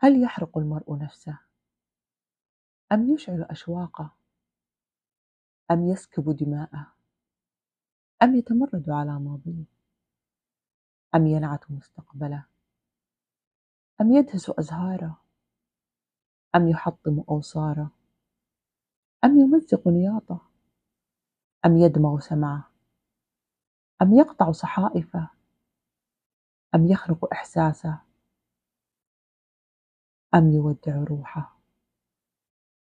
هل يحرق المرء نفسه أم يشعل أشواقه أم يسكب دماءه أم يتمرد على ماضيه أم ينعت مستقبله أم يدهس أزهاره أم يحطم أوصاره أم يمزق نياطه أم يدمغ سمعه أم يقطع صحائفه أم يخرق إحساسه أم يودع روحه.